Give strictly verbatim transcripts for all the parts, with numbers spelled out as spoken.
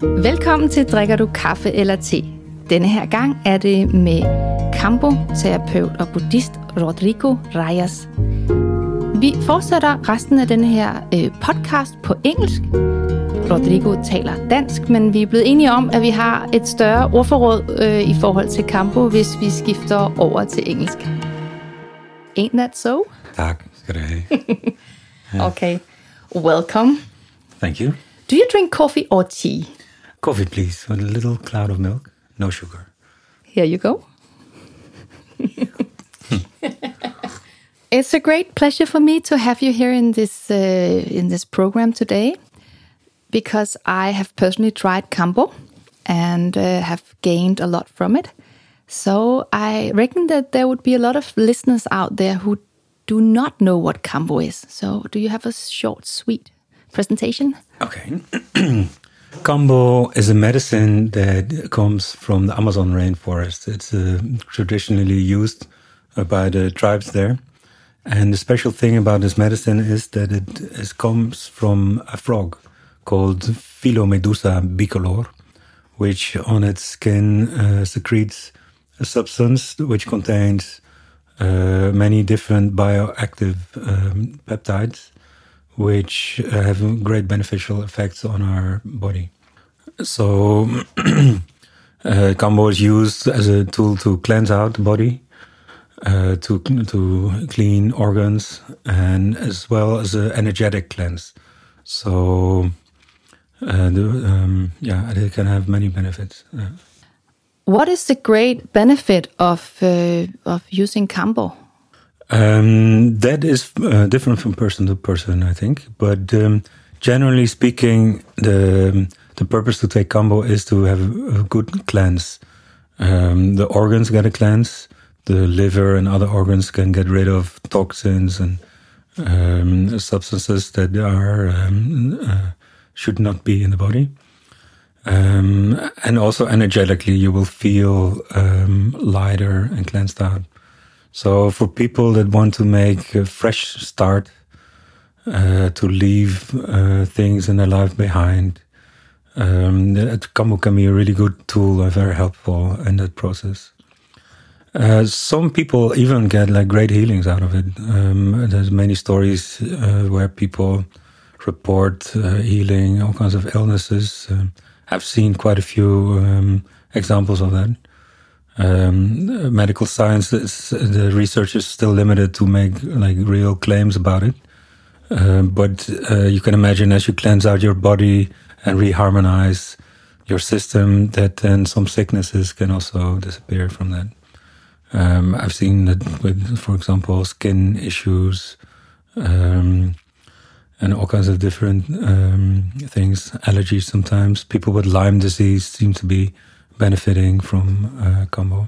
Velkommen til Drikker du kaffe eller te? Denne her gang er det med Kambo-terapeut og buddhist Rodrigo Reyes. Vi fortsætter resten af denne her øh, podcast på engelsk. Rodrigo taler dansk, men vi er blevet enige om, at vi har et større ordforråd øh, i forhold til Kambo, hvis vi skifter over til engelsk. Ain't that so? Tak skal du have. Okay, welcome. Thank you. Do you drink coffee or tea? Coffee, please, with a little cloud of milk. No sugar. Here you go. It's a great pleasure for me to have you here in this uh, in this program today, because I have personally tried Kambo and uh, have gained a lot from it. So I reckon that there would be a lot of listeners out there who do not know what Kambo is. So do you have a short, sweet presentation? Okay. Kambo is a medicine that comes from the Amazon rainforest. It's uh, traditionally used uh, by the tribes there. And the special thing about this medicine is that it is, comes from a frog called Philomedusa bicolor, which on its skin uh, secretes a substance which contains uh, many different bioactive um, peptides, which uh, have great beneficial effects on our body. So uh, Kambo is used as a tool to cleanse out the body, uh, to to clean organs, and as well as an energetic cleanse. So uh, the, um, yeah, it can have many benefits. Uh, What is the great benefit of uh, of using Kambo? Um, that is uh, different from person to person, I think. But um, generally speaking, the the purpose to take Kambo is to have a, a good cleanse. Um, the organs get a cleanse. The liver and other organs can get rid of toxins and um, substances that are um, uh, should not be in the body. Um, and also energetically, you will feel um, lighter and cleansed out. So for people that want to make a fresh start, uh, to leave uh, things in their life behind, um, Kambo can be a really good tool and very helpful in that process. Uh, some people even get like great healings out of it. Um, there's many stories uh, where people report uh, healing all kinds of illnesses. Uh, I've seen quite a few um, examples of that. Um, medical science, is, the research is still limited to make like real claims about it. Uh, but uh, you can imagine as you cleanse out your body and reharmonize your system, that then some sicknesses can also disappear from that. Um, I've seen that with, for example, skin issues, um, and all kinds of different um, things, allergies sometimes. People with Lyme disease seem to be benefiting from uh, Kambo.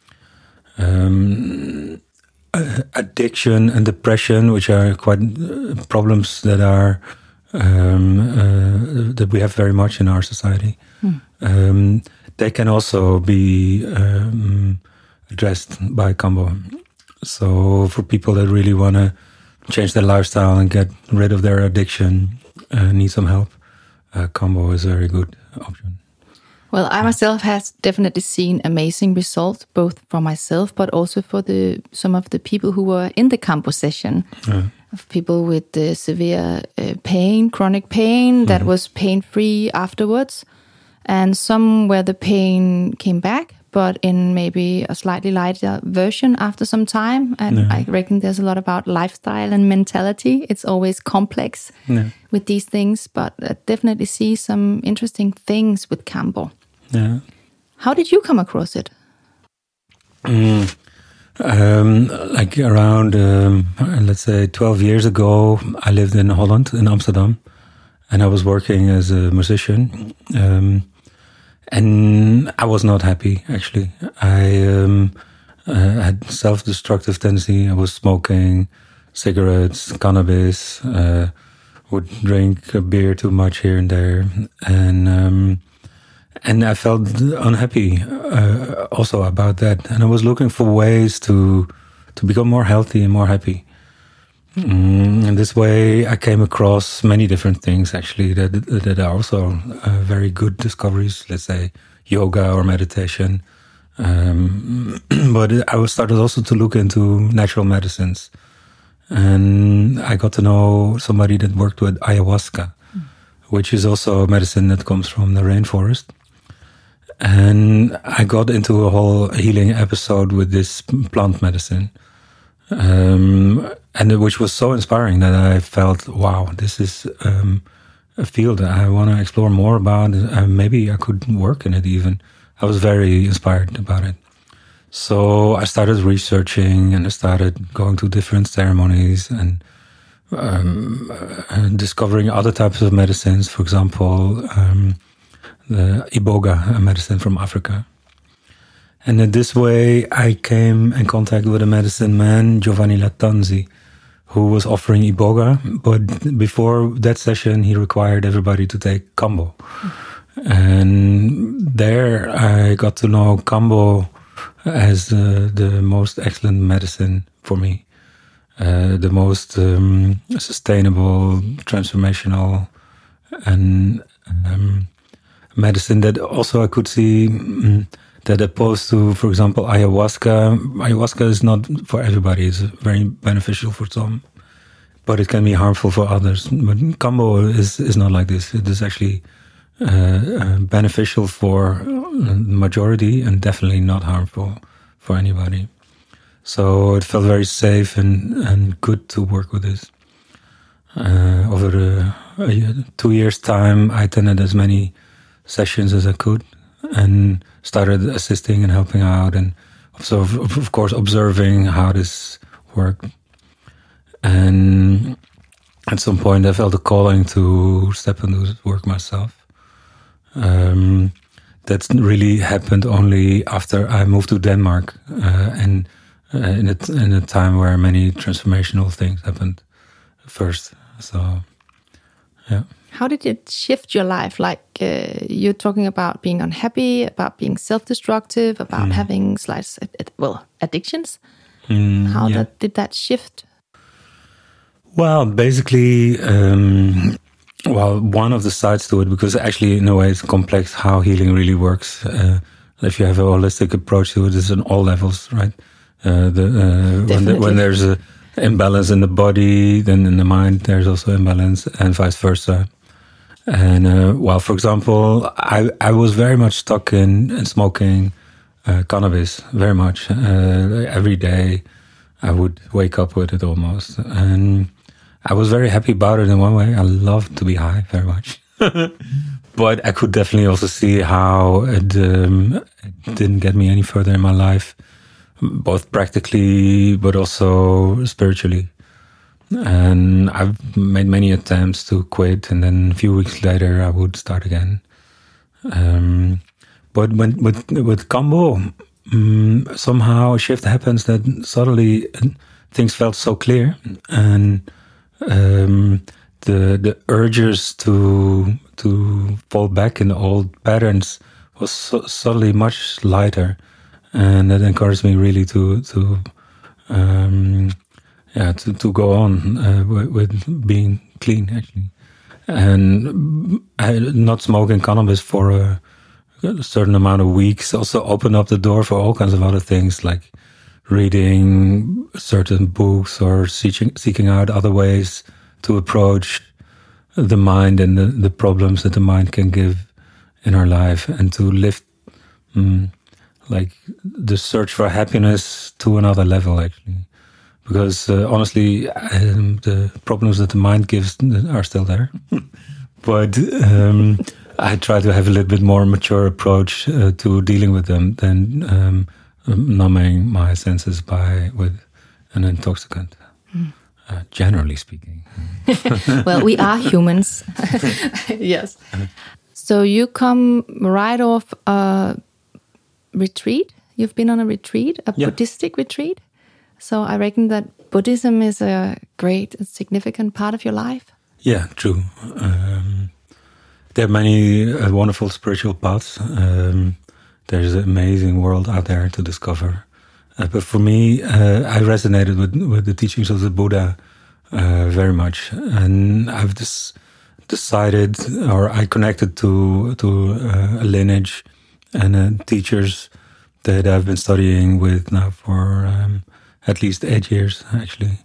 Um, uh, addiction and depression, which are quite uh, problems that are um, uh, that we have very much in our society, mm. um, they can also be um, addressed by Kambo. So for people that really want to change their lifestyle and get rid of their addiction, uh, need some help, uh, Kambo is a very good option. Well, I myself has definitely seen amazing results, both for myself, but also for the some of the people who were in the Kambo session. Yeah. Of people with uh, severe uh, pain, chronic pain, that mm-hmm. was pain-free afterwards. And some where the pain came back, but in maybe a slightly lighter version after some time. And yeah. I reckon there's a lot about lifestyle and mentality. It's always complex yeah. with these things, but I definitely see some interesting things with Kambo. Yeah. How did you come across it? Mm, um, like around, um, let's say twelve years ago, I lived in Holland, in Amsterdam, and I was working as a musician. Um, And I was not happy, actually. I um, uh, had self-destructive tendency. I was smoking cigarettes, cannabis, uh, would drink a beer too much here and there. And um, and I felt unhappy uh, also about that. And I was looking for ways to to become more healthy and more happy. Mm, in this way, I came across many different things, actually, that, that are also uh, very good discoveries, let's say yoga or meditation. Um, but I started also to look into natural medicines. And I got to know somebody that worked with ayahuasca, mm. which is also a medicine that comes from the rainforest. And I got into a whole healing episode with this plant medicine, um, and it, which was so inspiring that I felt, wow, this is um, a field that I want to explore more about. Uh, maybe I could work in it even. I was very inspired about it. So I started researching, and I started going to different ceremonies and um, uh, discovering other types of medicines. For example, um, the Iboga medicine from Africa. And in this way, I came in contact with a medicine man, Giovanni Lattanzi, who was offering Iboga. But before that session, he required everybody to take Kambo. Mm-hmm. And there I got to know Kambo as uh, the most excellent medicine for me, uh, the most um, sustainable, transformational, and um, medicine that also I could see um, that opposed to, for example, ayahuasca. Ayahuasca is not for everybody. It's very beneficial for some, but it can be harmful for others. But Kambo is, is not like this. It is actually uh, uh, beneficial for the majority and definitely not harmful for anybody. So it felt very safe and, and good to work with this. Uh, over the, uh, two years' time, I attended as many sessions as I could and started assisting and helping out, and so of course observing how this worked. And at some point I felt a calling to step into this work myself. Um, that really happened only after I moved to Denmark, uh, and uh, in, a, in a time where many transformational things happened first. So, yeah. How did it shift your life? Like uh, you're talking about being unhappy, about being self-destructive, about mm. having slight, well, addictions. Mm, How yeah. that, did that shift? Well, basically, um, well, one of the sides to it, because actually, in a way, it's complex how healing really works. Uh, if you have a holistic approach to it, it's on all levels, right? Uh, the, uh, when, the, when there's a imbalance in the body, then in the mind, there's also imbalance, and vice versa. And uh, well, for example, I, I was very much stuck in, in smoking uh, cannabis, very much. Uh, every day I would wake up with it almost. And I was very happy about it in one way. I loved to be high very much. But I could definitely also see how it, um, it didn't get me any further in my life, both practically but also spiritually. And I've made many attempts to quit, and then a few weeks later I would start again. Um, but when, with with Kambo, um, somehow a shift happens that suddenly things felt so clear, and um, the the urges to to fall back in the old patterns was so, suddenly much lighter, and that encouraged me really to to. Um, Yeah, to, to go on uh, with, with being clean, actually. And I, not smoking cannabis for a, a certain amount of weeks also opened up the door for all kinds of other things, like reading certain books or seeking, seeking out other ways to approach the mind and the, the problems that the mind can give in our life, and to lift um, like the search for happiness to another level, actually. Because uh, honestly, um, the problems that the mind gives are still there. But um, I try to have a little bit more mature approach uh, to dealing with them than um, numbing my senses by with an intoxicant, mm. uh, generally speaking. Well, we are humans. Yes. So you come right off a retreat. You've been on a retreat, a yeah. Buddhistic retreat. So I reckon that Buddhism is a great and significant part of your life. Yeah, true. Um, there are many uh, wonderful spiritual paths. Um, there's an amazing world out there to discover. Uh, but for me, uh, I resonated with, with the teachings of the Buddha uh, very much. And I've just decided, or I connected to to uh, a lineage and uh, teachers that I've been studying with now for um, at least eight years, actually.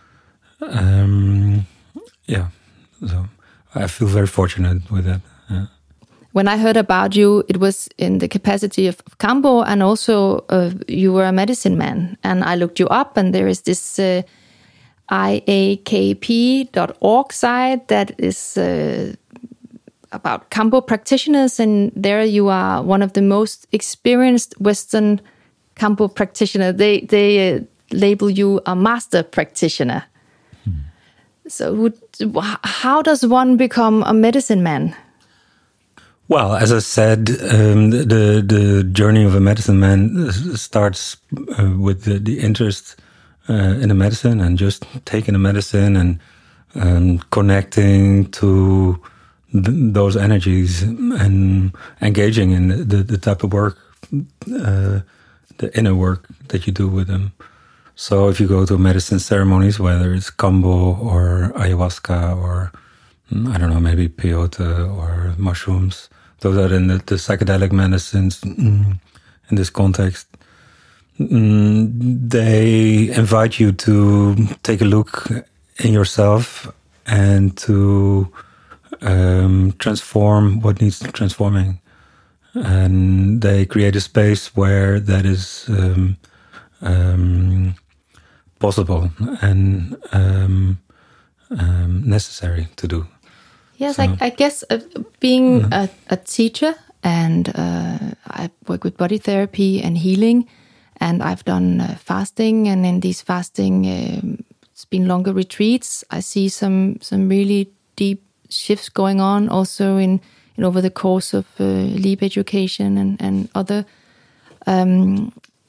Um, yeah, so I feel very fortunate with that. Yeah. When I heard about you, it was in the capacity of Kambo, and also uh, you were a medicine man. And I looked you up, and there is this uh, I A K P dot org site that is uh, about Kambo practitioners, and there you are one of the most experienced Western Kambo practitioner. They they uh, label you a master practitioner. Hmm. So, would, how does one become a medicine man? Well, as I said, um, the the journey of a medicine man starts uh, with the, the interest uh, in the medicine and just taking the medicine and um, connecting to th- those energies and engaging in the, the, the type of work, uh, the inner work that you do with them. So if you go to medicine ceremonies, whether it's Kambo or ayahuasca or, I don't know, maybe peyote or mushrooms, those are in the, the psychedelic medicines mm, in this context. Mm, they invite you to take a look in yourself and to um, transform what needs transforming. And they create a space where that is um, um, possible and um, um, necessary to do. Yes, so, I, I guess uh, being mm-hmm. a, a teacher, and uh, I work with body therapy and healing, and I've done uh, fasting, and in these fasting, um, it's been longer retreats. I see some some really deep shifts going on also in, in over the course of uh, LEAP education and, and other um,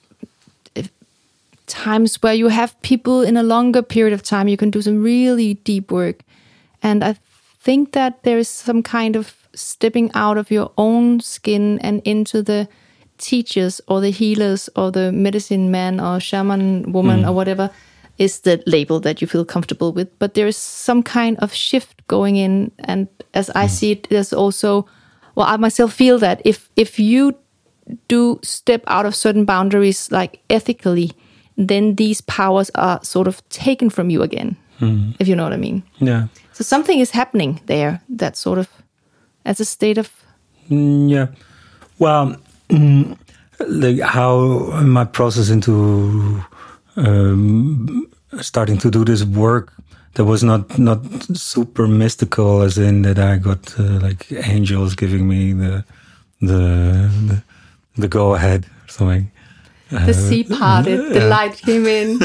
times where you have people in a longer period of time, you can do some really deep work. And I think that there is some kind of stepping out of your own skin and into the teachers or the healers or the medicine man or shaman woman mm. or whatever is the label that you feel comfortable with. But there is some kind of shift going in. And as I mm. see it, there's also, well, I myself feel that if, if you do step out of certain boundaries, like ethically, then these powers are sort of taken from you again, mm. if you know what I mean. Yeah. So something is happening there that sort of, as a state of... Mm, yeah. Well, mm, like how my process into um, starting to do this work, that was not, not super mystical, as in that I got uh, like angels giving me the the the, the go ahead or something. The sea parted, uh, the yeah. light came in.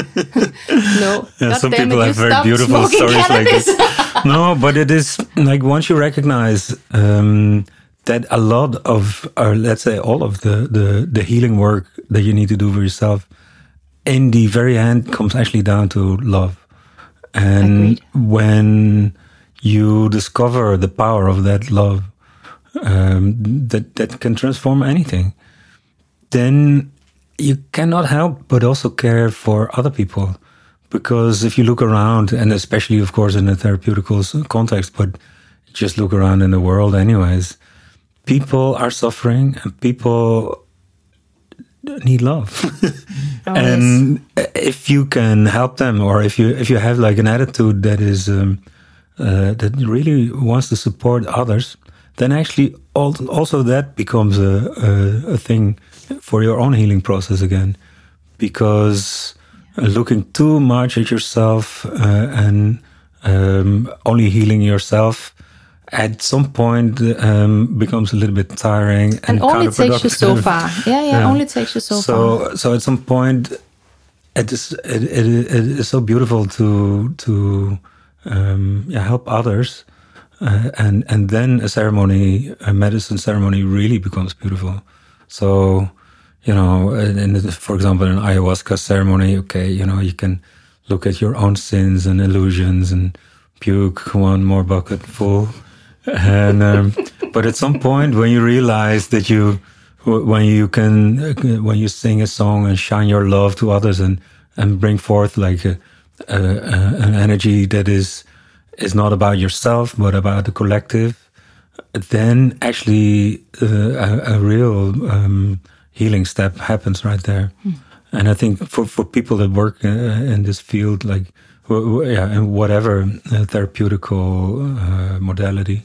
No, yeah, some people have very beautiful stories cannabis. like this. No, but it is like once you recognize um, that a lot of, or let's say all of the, the the healing work that you need to do for yourself, in the very end, comes actually down to love. And Agreed. When you discover the power of that love, um, that that can transform anything, then you cannot help but also care for other people. Because if you look around, and especially, of course, in a therapeutical context, but just look around in the world anyways, people are suffering and people need love. Oh, and yes. If you can help them, or if you if you have like an attitude that is um, uh, that really wants to support others, then actually also that becomes a, a, a thing for your own healing process again. Because looking too much at yourself uh, and um, only healing yourself at some point um, becomes a little bit tiring and, and only takes you so far. Yeah, yeah, yeah. Only takes you so, so far. So at some point, it is it, it, it is so beautiful to to um, yeah, help others, uh, and and then a ceremony, a medicine ceremony, really becomes beautiful. So, you know, in the, for example, an ayahuasca ceremony, okay, you know, you can look at your own sins and illusions and puke one more bucket full. And um, but at some point, when you realize that you, when you can, when you sing a song and shine your love to others and and bring forth like a, uh, uh, an energy that is is not about yourself but about the collective, then actually uh, a, a real um, healing step happens right there. Mm. And I think for, for people that work uh, in this field, like yeah, in whatever uh, therapeutical uh, modality,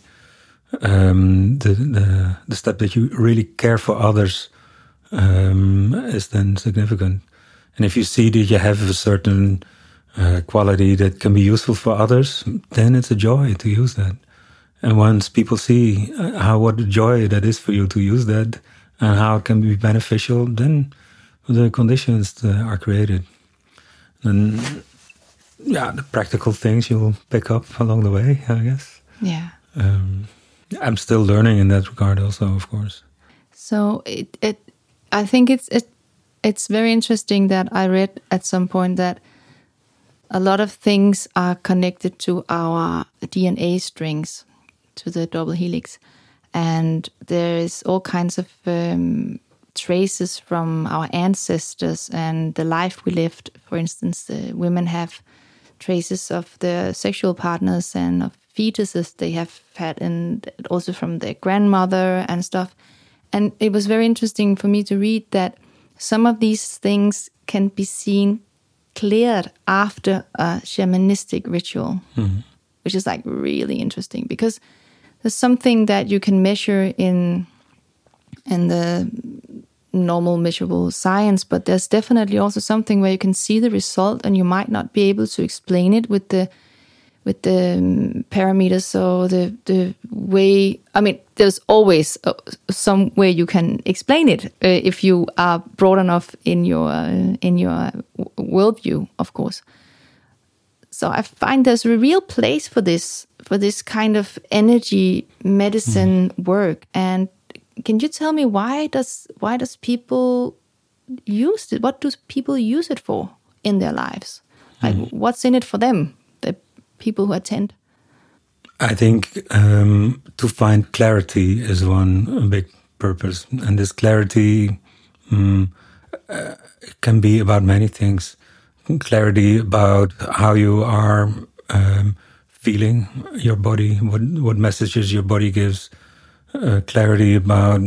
um, the, the the step that you really care for others um, is then significant. And if you see that you have a certain uh, quality that can be useful for others, then it's a joy to use that. And once people see how what a joy that is for you to use that and how it can be beneficial, then the conditions are created. And yeah, the practical things you'll pick up along the way, I guess. Yeah. Um, I'm still learning in that regard also, of course. So it, it I think it's it, it's very interesting that I read at some point that a lot of things are connected to our D N A strings, to the double helix. And there is all kinds of um, traces from our ancestors and the life we lived. For instance, the women have traces of their sexual partners and of fetuses they have had, and also from their grandmother and stuff. And it was very interesting for me to read that some of these things can be seen cleared after a shamanistic ritual, mm-hmm. which is like really interesting because there's something that you can measure in in the normal measurable science, but there's definitely also something where you can see the result, and you might not be able to explain it with the with the um, parameters or the the way. I mean, there's always uh, some way you can explain it uh, if you are broad enough in your uh, in your worldview, of course. So I find there's a real place for this for this kind of energy medicine mm. work. And can you tell me why does why does people use it? What do people use it for in their lives? Like, mm. what's in it for them, the people who attend? I think um, to find clarity is one big purpose, and this clarity um, uh, can be about many things. Clarity about how you are um, feeling your body, what what messages your body gives. Uh, clarity about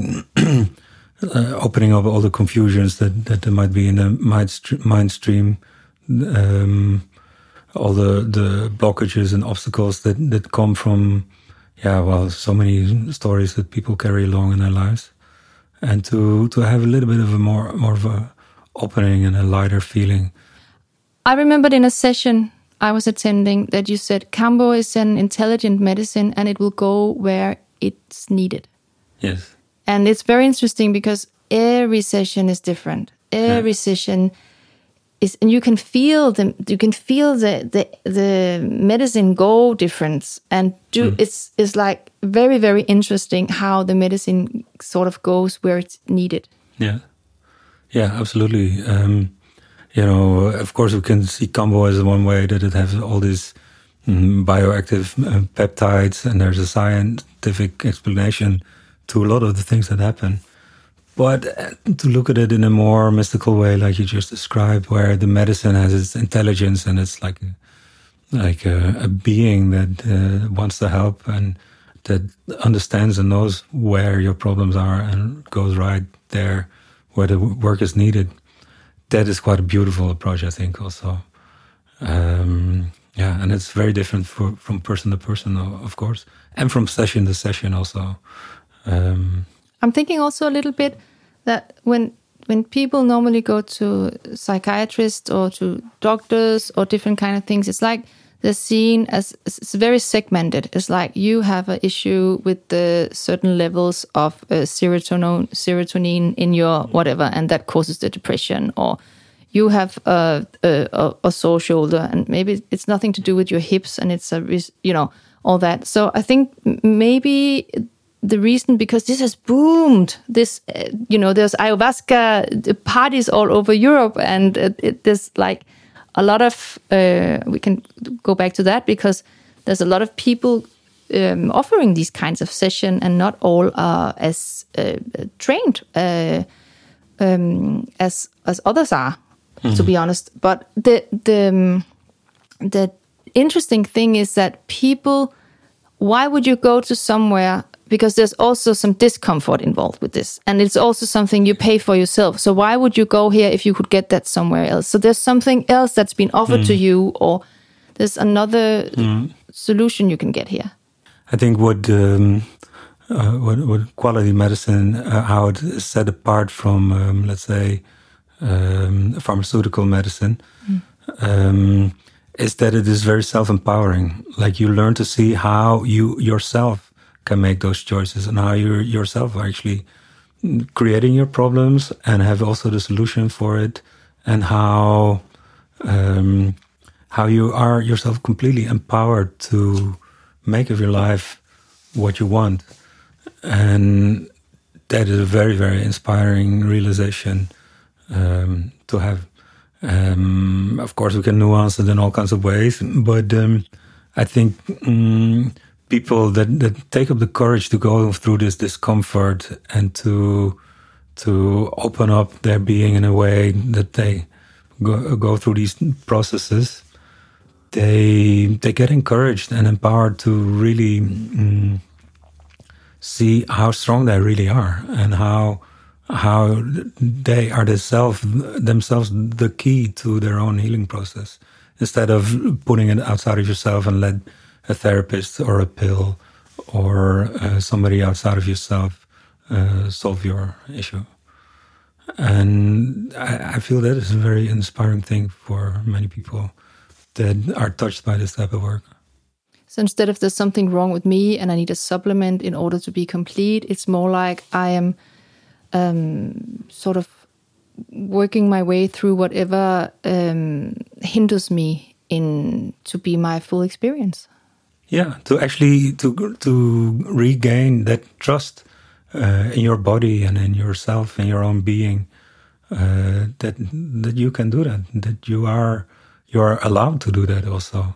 uh, opening up all the confusions that, that there might be in the mind, st- mind stream, um, all the, the blockages and obstacles that, that come from, yeah, well, so many stories that people carry along in their lives. And to, to have a little bit of a more, more of a opening and a lighter feeling. I remembered in a session I was attending that you said Kambo is an intelligent medicine and it will go where it's needed. Yes. And it's very interesting because every session is different. Every yeah. session is, and you can feel the you can feel the the, the medicine go different, and do mm. it's it's like very very interesting how the medicine sort of goes where it's needed. Yeah, yeah, absolutely. Um, you know, of course, we can see Kambo as one way that it has all these um, bioactive uh, peptides, and there's a scientific explanation to a lot of the things that happen. But to look at it in a more mystical way, like you just described, where the medicine has its intelligence and it's like a, like a, a being that uh, wants to help and that understands and knows where your problems are and goes right there where the work is needed. That is quite a beautiful approach, I think, also. Um, yeah, and it's very different for, from person to person, of course, and from session to session also. Um, I'm thinking also a little bit that when when people normally go to psychiatrists or to doctors or different kind of things, it's like they're seen as, it's very segmented. It's like you have an issue with the certain levels of uh, serotonin, serotonin in your whatever, and that causes the depression. Or you have a, a, a sore shoulder, and maybe it's nothing to do with your hips, and it's a, you know, all that. So I think maybe the reason, because this has boomed, this, uh, you know, there's ayahuasca parties all over Europe, and it, it, there's like a lot of, uh, we can go back to that because there's a lot of people um, offering these kinds of session, and not all are as uh, trained uh, um, as as others are, mm-hmm. to be honest. But the the um, the interesting thing is that people, why would you go to somewhere? Because there's also some discomfort involved with this. And it's also something you pay for yourself. So why would you go here if you could get that somewhere else? So there's something else that's been offered mm. to you, or there's another mm. solution you can get here. I think what um, uh, what, what quality medicine, uh, how it is set apart from, um, let's say, um, pharmaceutical medicine, mm. um, is that it is very self-empowering. Like, you learn to see how you yourself can make those choices, and how you yourself are actually creating your problems and have also the solution for it, and how um, how you are yourself completely empowered to make of your life what you want. And that is a very, very inspiring realization um, to have. Um, of course, we can nuance it in all kinds of ways, but um, I think um, people that, that take up the courage to go through this discomfort and to to open up their being in a way that they go, go through these processes, they they get encouraged and empowered to really um, see how strong they really are, and how how they are themselves themselves the key to their own healing process, instead of putting it outside of yourself and let a therapist or a pill or uh, somebody outside of yourself uh, solve your issue. And I, I feel that is a very inspiring thing for many people that are touched by this type of work. So instead of there's something wrong with me and I need a supplement in order to be complete, it's more like I am um, sort of working my way through whatever um, hinders me in to be my full experience. Yeah, to actually to to regain that trust uh, in your body and in yourself and your own being, uh, that that you can do that, that you are you are allowed to do that also.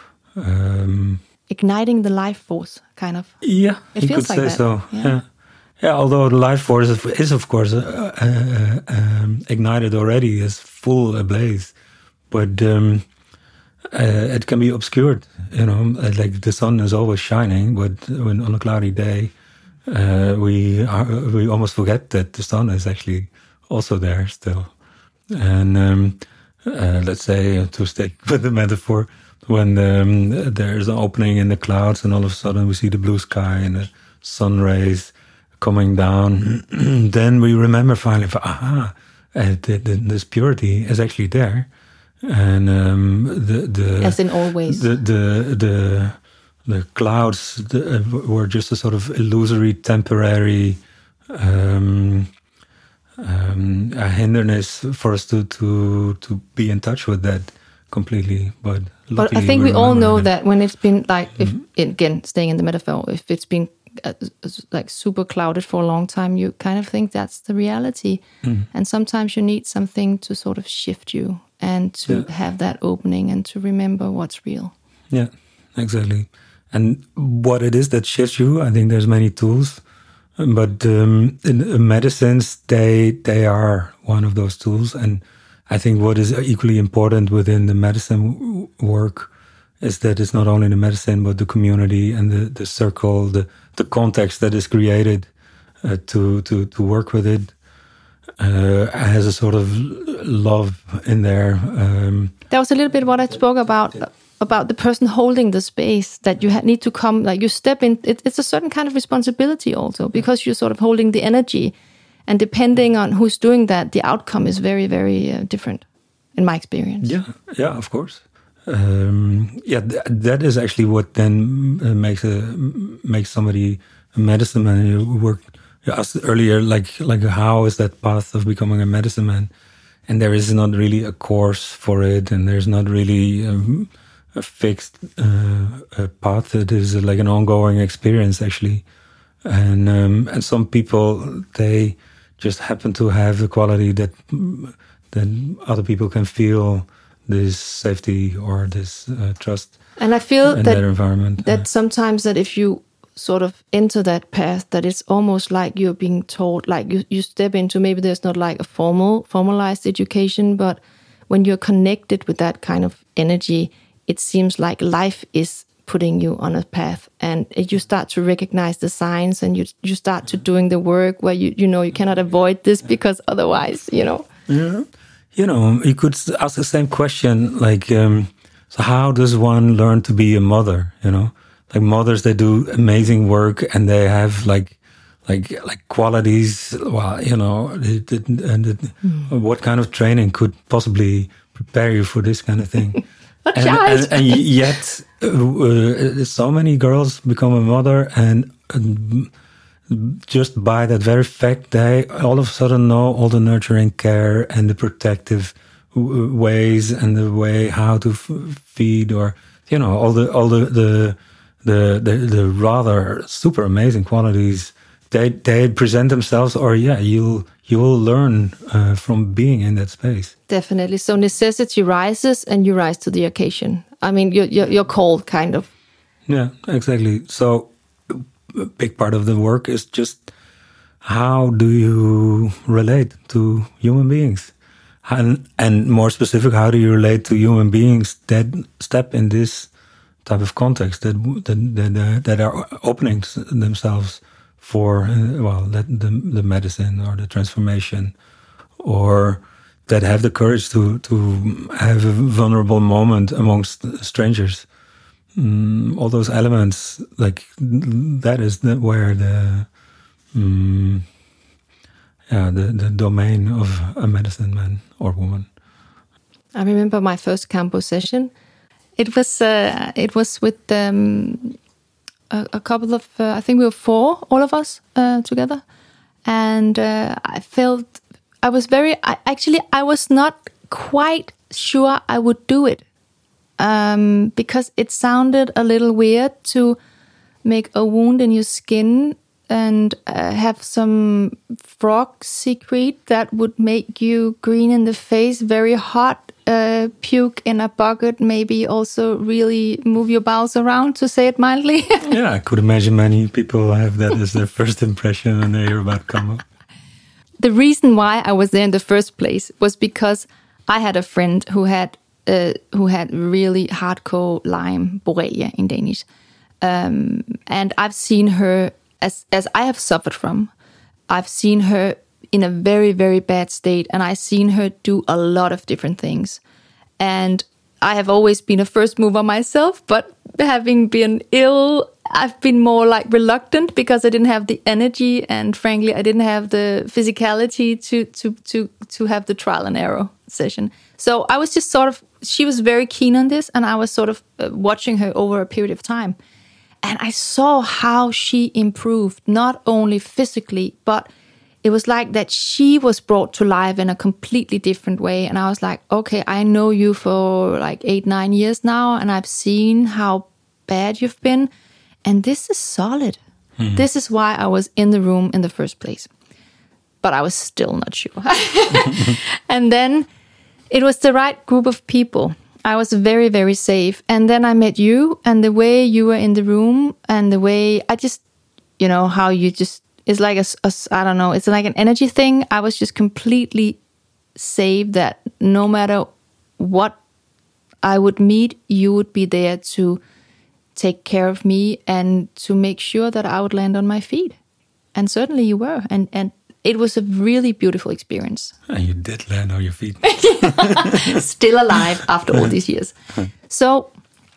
Um, Igniting the life force, kind of. Yeah, it you feels could like say that. so. Yeah. yeah, yeah. Although the life force is, is of course, uh, uh, um, ignited already, is full ablaze, but. Um, Uh, it can be obscured, you know, like the sun is always shining, but when on a cloudy day, uh, we are, we almost forget that the sun is actually also there still. And um, uh, let's say, to stick with the metaphor, when um, there's an opening in the clouds and all of a sudden we see the blue sky and the sun rays coming down, then we remember finally, aha, uh, the, the, this purity is actually there. And um, the the as in always the the the, the clouds the, uh, were just a sort of illusory, temporary um, um, a hindrance for us to to to be in touch with that completely. But but I think we, we all know that. that when it's been like, if mm-hmm. again staying in the metaphor, if it's been uh, like super clouded for a long time, you kind of think that's the reality, mm-hmm. and sometimes you need something to sort of shift you. And to yeah. have that opening and to remember what's real. Yeah, exactly. And what it is that shifts you, I think there's many tools, but um, in medicines, they they are one of those tools. And I think what is equally important within the medicine work is that it's not only the medicine, but the community and the, the circle, the, the context that is created uh, to, to, to work with it. Uh, has a sort of love in there. Um, that was a little bit what I spoke about, about the person holding the space, that you ha- need to come, like you step in, it, it's a certain kind of responsibility also, because you're sort of holding the energy, and depending on who's doing that, the outcome is very, very uh, different, in my experience. Yeah, yeah, of course. Um, yeah, th- that is actually what then uh, makes a makes somebody a medicine man. You work. You asked earlier, like, like how is that path of becoming a medicine man? And there is not really a course for it, and there's not really um, a fixed uh, a path. It is like an ongoing experience, actually. And um, and some people, they just happen to have the quality that that other people can feel this safety or this uh, trust. And I feel in that their environment. that sometimes that if you sort of enter that path, that it's almost like you're being taught, like you, you step into, maybe there's not like a formal, formalized education, but when you're connected with that kind of energy, it seems like life is putting you on a path, and you start to recognize the signs, and you you start to doing the work where you you know you cannot avoid this because otherwise, you know. Yeah, you know, you could ask the same question, like, um, so how does one learn to be a mother? You know, like mothers, they do amazing work, and they have like, like, like qualities. Well, you know, it, it, and it, mm. what kind of training could possibly prepare you for this kind of thing? and, and, and yet, uh, so many girls become a mother, and uh, just by that very fact, they all of a sudden know all the nurturing care and the protective w- ways and the way how to f- feed, or you know, all the all the the the, the, the rather super amazing qualities. They they present themselves, or yeah, you'll you will learn uh, from being in that space. Definitely. So necessity rises, and you rise to the occasion. I mean, you're you're, you're called, kind of. Yeah, exactly. So a big part of the work is just how do you relate to human beings, and and more specific, how do you relate to human beings that step in this type of context, that that that, that are opening themselves for uh, well, that the the medicine or the transformation, or that have the courage to to have a vulnerable moment amongst strangers. Mm, all those elements, like that is the, where the um, yeah the, the domain of a medicine man or woman. I remember my first campo session. It was uh, it was with um, a, a couple of uh, I think we were four, all of us uh, together, and uh, I felt I was very I, actually I was not quite sure I would do it. Um, because it sounded a little weird to make a wound in your skin and uh, have some frog secrete that would make you green in the face, very hot, uh, puke in a bucket, maybe also really move your bowels around, to say it mildly. Yeah, I could imagine many people have that as their first impression when they hear about Kambo. The reason why I was there in the first place was because I had a friend who had Uh, who had really hardcore Lyme, Borrelia in Danish. Um, and I've seen her, as as I have suffered from, I've seen her in a very, very bad state, and I've seen her do a lot of different things. And I have always been a first mover myself, but having been ill, I've been more like reluctant because I didn't have the energy, and frankly, I didn't have the physicality to to to to have the trial and error session. So I was just sort of, she was very keen on this, and I was sort of uh, watching her over a period of time. And I saw how she improved, not only physically, but it was like that she was brought to life in a completely different way. And I was like, okay, I know you for like eight, nine years now, and I've seen how bad you've been. And this is solid. Mm-hmm. This is why I was in the room in the first place. But I was still not sure. And then it was the right group of people. I was very, very safe. And then I met you, and the way you were in the room, and the way I just, you know, how you just, it's like a, a I don't know, it's like an energy thing. I was just completely safe that no matter what I would meet, you would be there to take care of me and to make sure that I would land on my feet. And certainly you were. And, and it was a really beautiful experience. And you did land on your feet. Still alive after all these years. So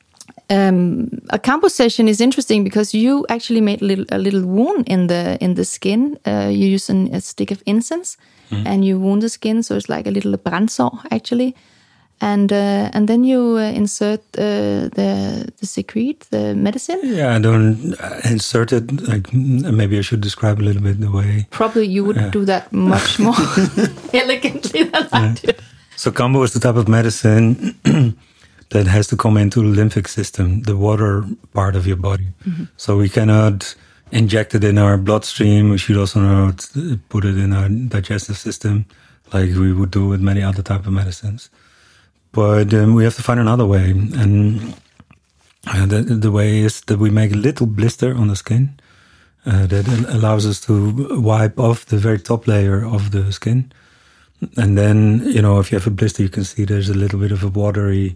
um, a campo session is interesting because you actually made a little, a little wound in the in the skin. Uh, you use an, a stick of incense mm. and you wound the skin. So it's like a little brandsår actually. And uh, and then you uh, insert uh, the the secrete, the medicine. Yeah, I don't uh, insert it. Like maybe I should describe a little bit the way. Probably you would uh, do that much more elegantly than yeah. I did. So Kambo is the type of medicine that has to come into the lymphic system, the water part of your body. Mm-hmm. So we cannot inject it in our bloodstream. We should also not put it in our digestive system, like we would do with many other type of medicines. But um, we have to find another way, and uh, the, the way is that we make a little blister on the skin uh, that allows us to wipe off the very top layer of the skin. And then, you know, if you have a blister, you can see there's a little bit of a watery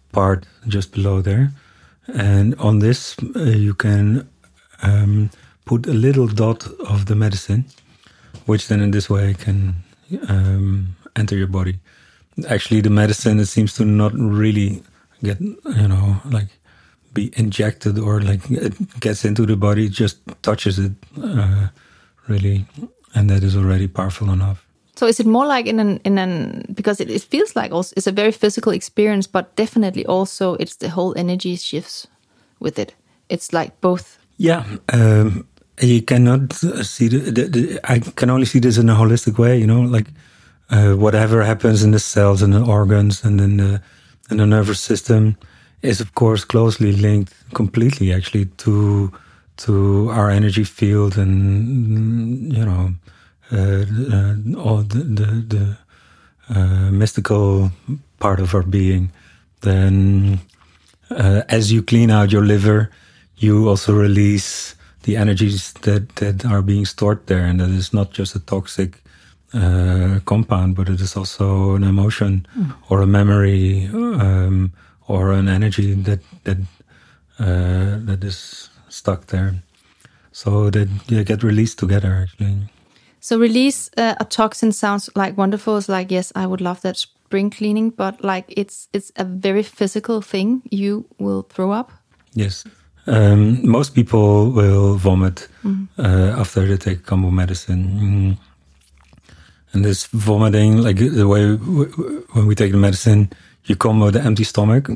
part just below there. And on this, uh, you can um, put a little dot of the medicine, which then in this way can um, enter your body. Actually, the medicine, it seems to not really get, you know, like be injected or like it gets into the body, it just touches it uh, really, and that is already powerful enough. So is it more like in an, in an because it, it feels like also it's a very physical experience, but definitely also it's the whole energy shifts with it. It's like both. Yeah, um, you cannot see the, the, the, I can only see this in a holistic way, you know, like uh, whatever happens in the cells and the organs and in the, in the nervous system is of course closely linked completely actually to to our energy field and, you know, uh, uh, all the, the, the uh, mystical part of our being. Then uh, as you clean out your liver, you also release the energies that, that are being stored there. And that is not just a toxic uh, compound, but it is also an emotion mm. or a memory um, or an energy that that uh, that is stuck there. So that they get released together, actually. So release uh, a toxin sounds like wonderful. It's like, yes, I would love that spring cleaning, but like it's it's a very physical thing. You will throw up. Yes. Um, most people will vomit mm. uh, after they take Kambo medicine. Mm. And this vomiting, like the way w- w- when we take the medicine, you come with an empty stomach,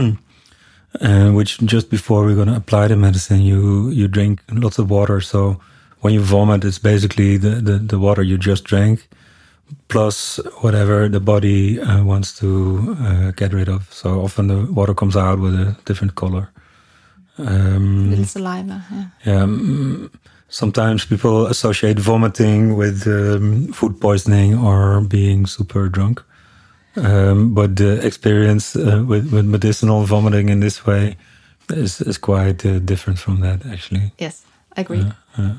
and which just before we're going to apply the medicine, you, you drink lots of water. So when you vomit, it's basically the, the, the water you just drank, plus whatever the body uh, wants to uh, get rid of. So often the water comes out with a different color. Um, Little saliva, yeah. Yeah. Um, sometimes people associate vomiting with um, food poisoning or being super drunk. Um, but the experience uh, with, with medicinal vomiting in this way is, is quite uh, different from that, actually. Yes, I agree. Uh, uh,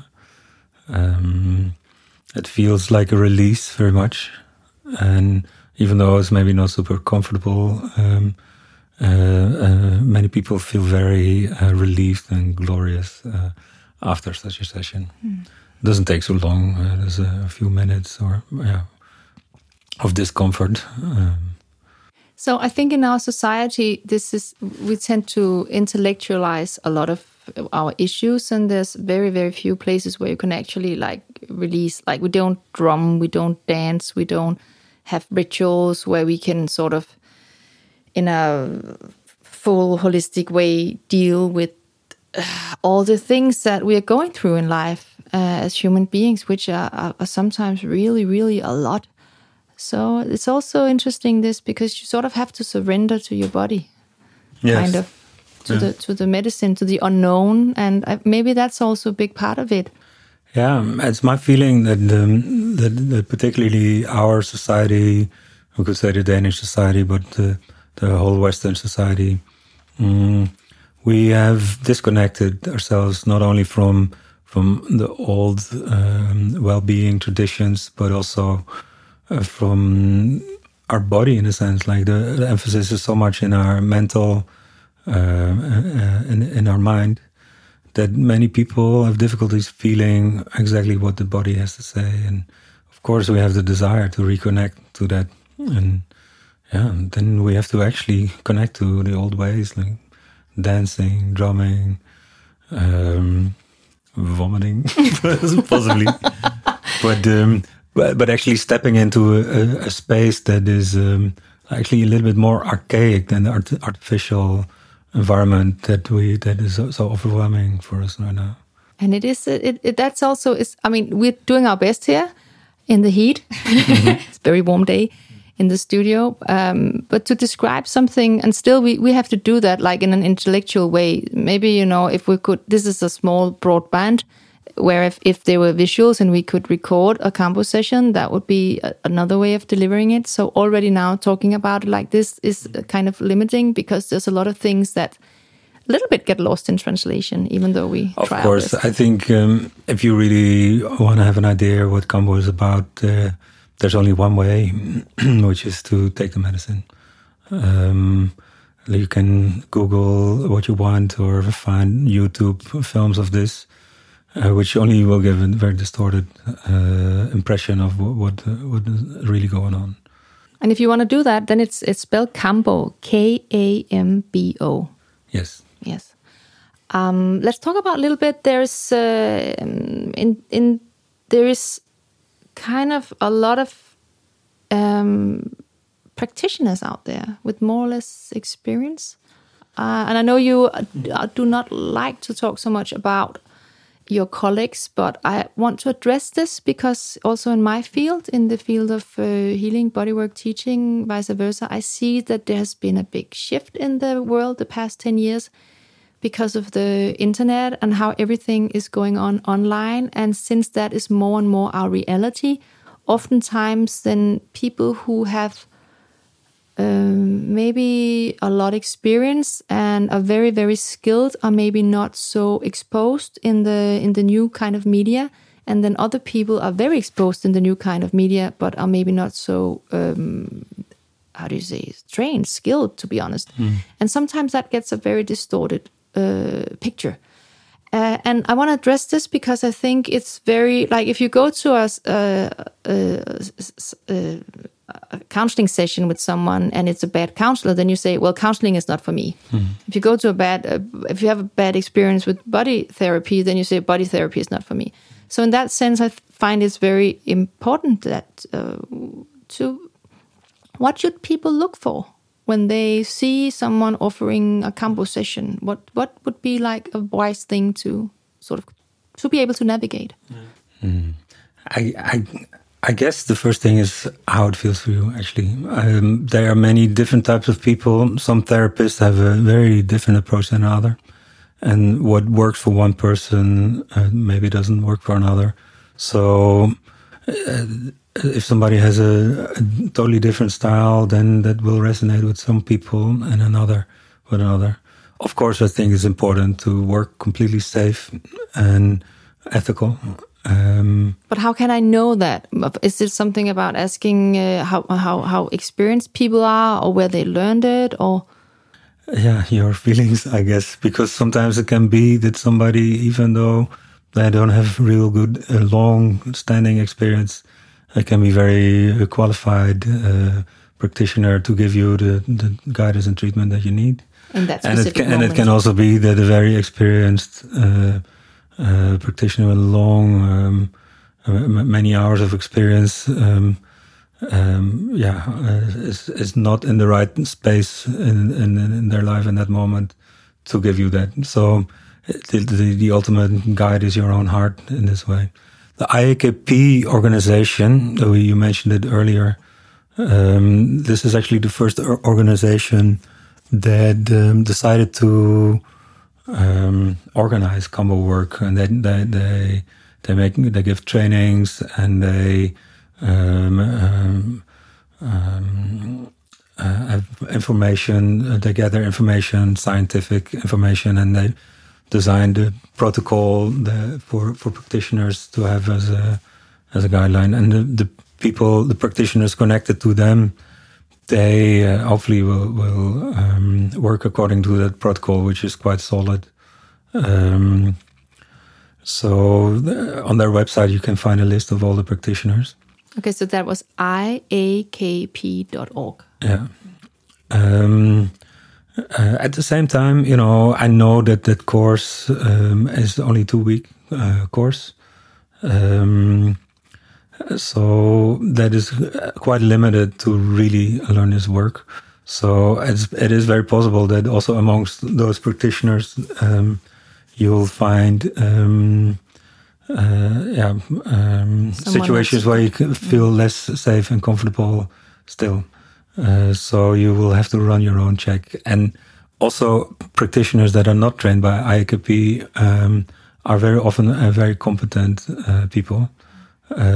um, it feels like a release very much. And even though it's maybe not super comfortable, um, uh, uh, many people feel very uh, relieved and glorious uh, after such a session. Mm. It doesn't take so long. Uh, there's a, a few minutes or, yeah, of discomfort. Um, so I think in our society, this is we tend to intellectualize a lot of our issues, and there's very, very few places where you can actually like release. Like we don't drum, we don't dance, we don't have rituals where we can sort of, in a full holistic way, deal with all the things that we are going through in life uh, as human beings, which are, are, are sometimes really, really a lot. So it's also interesting this because you sort of have to surrender to your body, yes. kind of to yeah. the to the medicine, to the unknown, and I, maybe that's also a big part of it. Yeah, it's my feeling that, um, that that particularly our society, we could say the Danish society, but the, the whole Western society, um, we have disconnected ourselves not only from from the old um, well-being traditions, but also Uh, from our body, in a sense. Like the, the emphasis is so much in our mental, uh, uh, in, in our mind, that many people have difficulties feeling exactly what the body has to say. And of course, we have the desire to reconnect to that. And yeah, and then we have to actually connect to the old ways, like dancing, drumming, um, vomiting, possibly. But um, But, but actually stepping into a, a space that is um, actually a little bit more archaic than the art- artificial environment that we that is so, so overwhelming for us right now. And it is it, it that's also is. I mean, we're doing our best here in the heat. Mm-hmm. It's a very warm day in the studio. Um, but to describe something, and still we we have to do that like in an intellectual way. Maybe, you know, if we could. This is a small broadband. Where if, if there were visuals and we could record a Kambo session, that would be a, another way of delivering it. So already now talking about it like this is kind of limiting because there's a lot of things that a little bit get lost in translation, even though we of try course, our best. I think um, if you really want to have an idea what Kambo is about, uh, there's only one way, which is to take the medicine. Um, You can Google what you want or find YouTube films of this, uh, which only will give a very distorted uh, impression of what, what, uh, what is really going on. And if you want to do that, then it's it's spelled Kambo, K A M B O. Yes. Yes. Um, let's talk about a little bit. There's uh, in in there is kind of a lot of um, practitioners out there with more or less experience, uh, and I know you do not like to talk so much about your colleagues, but I want to address this because also in my field, in the field of uh, healing, bodywork, teaching, vice versa, I see that there has been a big shift in the world the past ten years because of the internet and how everything is going on online. And since that is more and more our reality, oftentimes then people who have um, maybe a lot of experience and are very, very skilled are maybe not so exposed in the in the new kind of media. And then other people are very exposed in the new kind of media, but are maybe not so, um, how do you say, trained, skilled, to be honest. Mm. And sometimes that gets a very distorted uh, picture. Uh, and I want to address this because I think it's very, like if you go to a, a, a, a, a counseling session with someone and it's a bad counselor, then you say, well, counseling is not for me. Mm. If you go to a bad, uh, if you have a bad experience with body therapy, then you say body therapy is not for me. So in that sense, I find it's very important that uh, to, what should people look for when they see someone offering a Kambo session? What what would be like a wise thing to sort of to be able to navigate? Mm. I, I I guess the first thing is how it feels for you. Actually, um, there are many different types of people. Some therapists have a very different approach than another, and what works for one person uh, maybe doesn't work for another. So. Uh, If somebody has a, a totally different style, then that will resonate with some people and another with another. Of course, I think it's important to work completely safe and ethical. Um, but how can I know that? Is it something about asking uh, how how how experienced people are, or where they learned it, or? Yeah, your feelings, I guess, because sometimes it can be that somebody, even though they don't have real good, uh, long-standing experience, it can be very qualified uh, practitioner to give you the, the guidance and treatment that you need. In that and it can, moment. and it can also be that a very experienced uh, uh, practitioner with long, um, uh, many hours of experience, um, um, yeah, uh, is is not in the right space in, in in their life in that moment to give you that. So the the, the ultimate guide is your own heart in this way. The I A K P organization, you mentioned it earlier, um, this is actually the first organization that um, decided to um, organize Kambo work, and they they they they make they give trainings and they um, um, um, uh, have information. They gather information, scientific information, and they design the protocol the, for for practitioners to have as a as a guideline, and the, the people, the practitioners connected to them, they uh, hopefully will will um, work according to that protocol, which is quite solid. Um, so the, on their website, you can find a list of all the practitioners. Okay, so that was I A K P dot org. Yeah. Um, Uh, at the same time, you know, I know that that course um, is only two week uh, course, um, so that is quite limited to really learn this work. So it's, it is very possible that also amongst those practitioners, um, you'll find um, uh, yeah um, situations where you can feel less safe and comfortable still. Uh, so you will have to run your own check. And also practitioners that are not trained by I A K P um, are very often uh, very competent uh, people.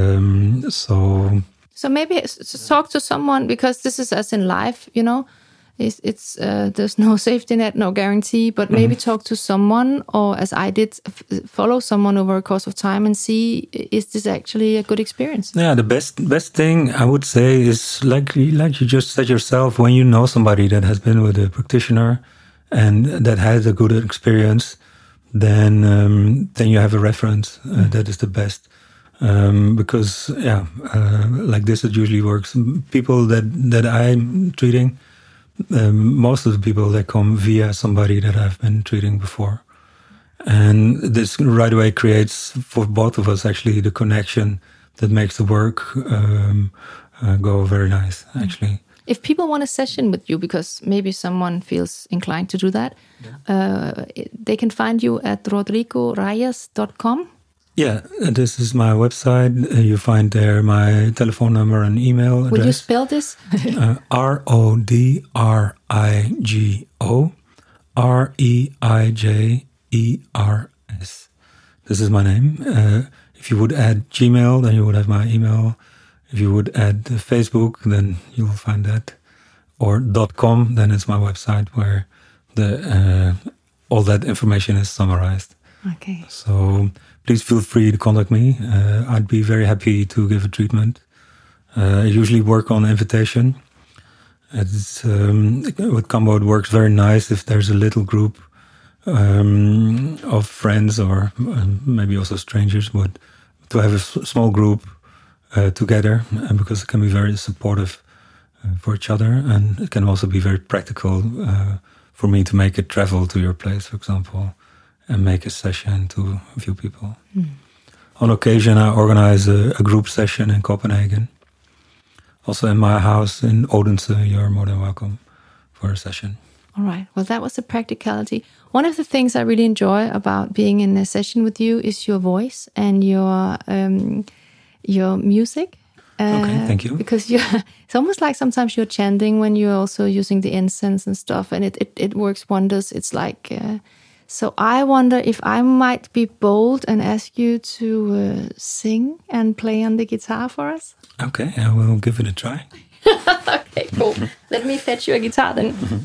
Um, so so maybe talk to someone, because this is as in life, you know. It's, it's uh, there's no safety net, no guarantee, but maybe mm-hmm. talk to someone, or as I did, f- follow someone over a course of time and see, is this actually a good experience? Yeah, the best best thing I would say is, like, like you just said yourself, when you know somebody that has been with a practitioner and that has a good experience, then um, then you have a reference. Uh, mm-hmm. That is the best. Um, because, yeah, uh, like this, it usually works. People that, that I'm treating, Um, most of the people, they come via somebody that I've been treating before. And this right away creates, for both of us, actually, the connection that makes the work um, uh, go very nice, actually. If people want a session with you, because maybe someone feels inclined to do that, yeah. uh, they can find you at rodrigo reyes dot com. Yeah, this is my website. Uh, you find there my telephone number and email address. Will you spell this? uh, R O D R I G O R E I J E R S. This is my name. Uh, if you would add Gmail, then you would have my email. If you would add Facebook, then you'll find that. Or .com, then it's my website where the uh, all that information is summarized. Okay. So please feel free to contact me. Uh, I'd be very happy to give a treatment. Uh, I usually work on invitation. It's, um, with Kambo, it works very nice if there's a little group um, of friends, or um, maybe also strangers, but to have a s- small group uh, together, and because it can be very supportive uh, for each other, and it can also be very practical uh, for me to make it travel to your place, for example, and make a session to a few people. Mm. On occasion, I organize a, a group session in Copenhagen. Also in my house in Odense, you're more than welcome for a session. All right. Well, that was the practicality. One of the things I really enjoy about being in a session with you is your voice and your um, your music. Uh, okay, thank you. Because you, it's almost like sometimes you're chanting when you're also using the incense and stuff, and it, it, it works wonders. It's like... Uh, So I wonder if I might be bold and ask you to uh, sing and play on the guitar for us. Okay, I will give it a try. Okay, cool. Let me fetch you a guitar then. Mm-hmm.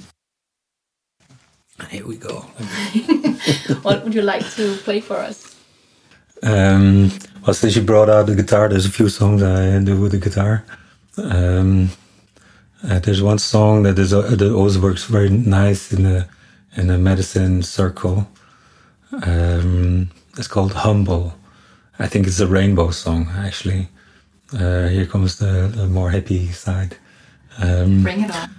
Here we go. What would you like to play for us? Um, well, since you brought out the guitar, there's a few songs I do with the guitar. Um, uh, there's one song that is uh, that always works very nice in the in a medicine circle. Um, it's called Humble. I think it's a rainbow song, actually. Uh, here comes the, the more happy side. Um, Bring it on.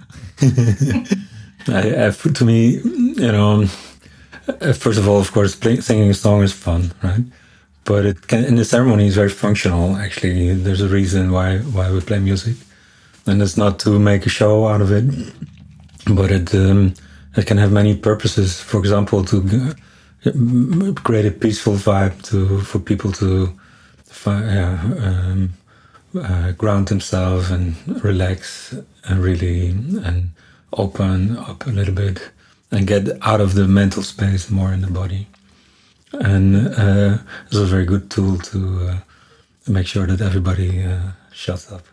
I, I, to me, you know, first of all, of course, play, singing a song is fun, right? But it can, in the ceremony, it's very functional, actually. There's a reason why, why we play music. And it's not to make a show out of it, but it... Um, It can have many purposes. For example, to create a peaceful vibe to for people to yeah, um, uh, ground themselves and relax and really and open up a little bit and get out of the mental space more in the body. And uh, it's a very good tool to uh, make sure that everybody uh, shuts up.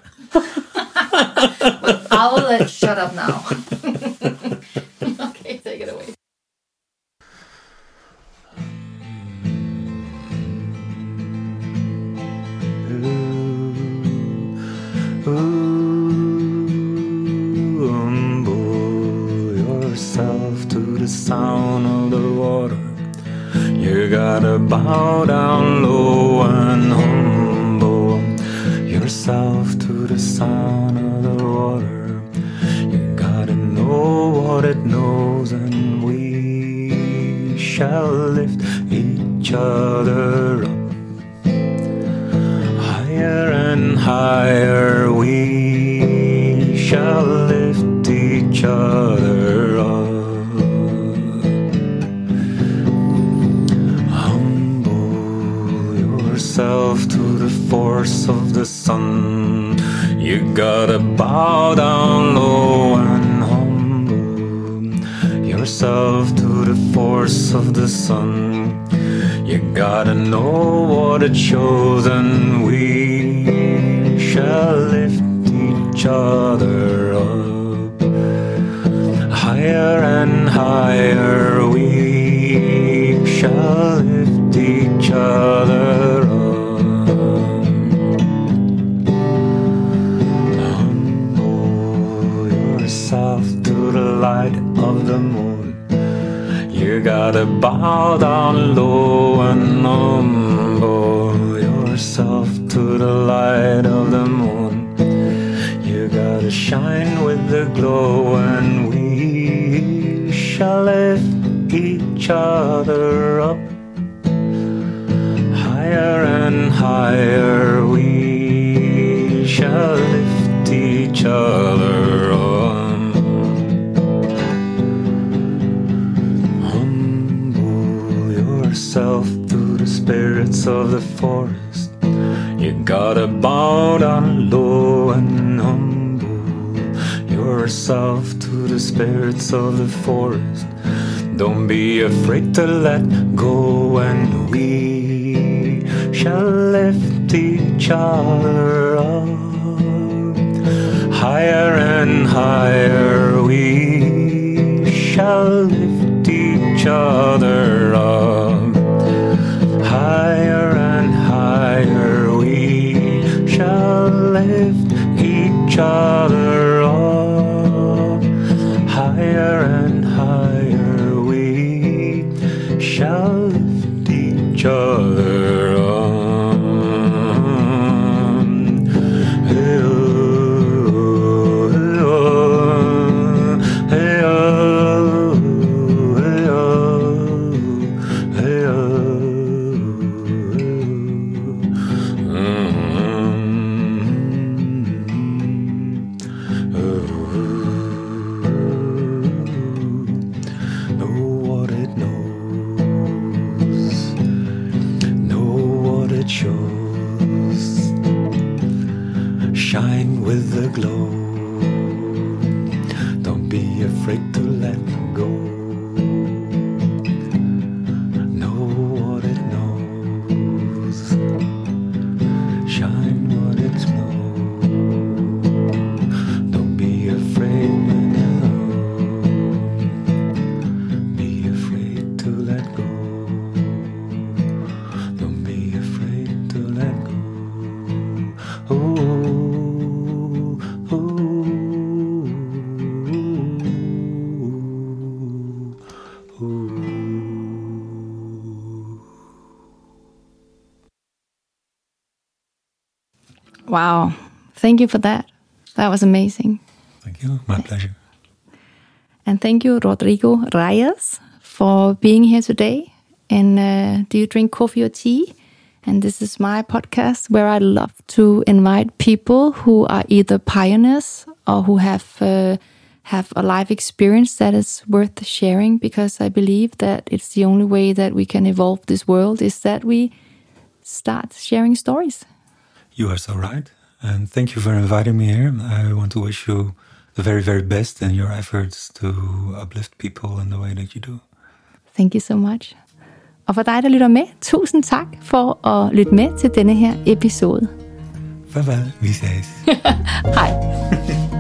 Well, I'll let shut up now. Okay, take it away. Ooh, ooh, humble yourself to the sound of the water. You gotta bow down low and humble yourself to the sound of the water. You gotta know what it knows, and we shall lift each other up. Higher and higher we shall lift each other up. Humble yourself to the force of the sun. You gotta bow down low and humble yourself to the force of the sun. You gotta know what it shows, and we shall lift each other up. higher and higher we shall lift each other up. Humble yourself to the light of the moon. You gotta bow down low and humble yourself to the light of the moon. You gotta shine with the glow, and we shall lift each other up. Higher and higher we shall lift each other up. Yourself to the spirits of the forest. You gotta bow down low and humble yourself to the spirits of the forest. Don't be afraid to let go, and we shall lift each other up. Higher and higher we shall lift each other up. Higher and higher we shall lift each other up. Higher and higher we shall lift each other up. Hey, oh, hey, oh, hey, oh, hey, oh, hey, oh. Shine with the glow. Don't be afraid to let go. Know what it knows. Shine what it knows. Don't be afraid when you're alone. Be afraid to let go. Don't be afraid to let go. Oh. Wow. Thank you for that. That was amazing. Thank you. My pleasure. And thank you, Rodrigo Reyes, for being here today. And uh, do you drink coffee or tea? And this is my podcast where I love to invite people who are either pioneers or who have uh, have a life experience that is worth sharing, because I believe that it's the only way that we can evolve this world is that we start sharing stories. You are so right. And thank you for inviting me here. I want to wish you the very, very best in your efforts to uplift people in the way that you do. Thank you so much. Og for dig, der lytter med, tusind tak for at lytte med til denne her episode. Farvel, vi ses. Hej.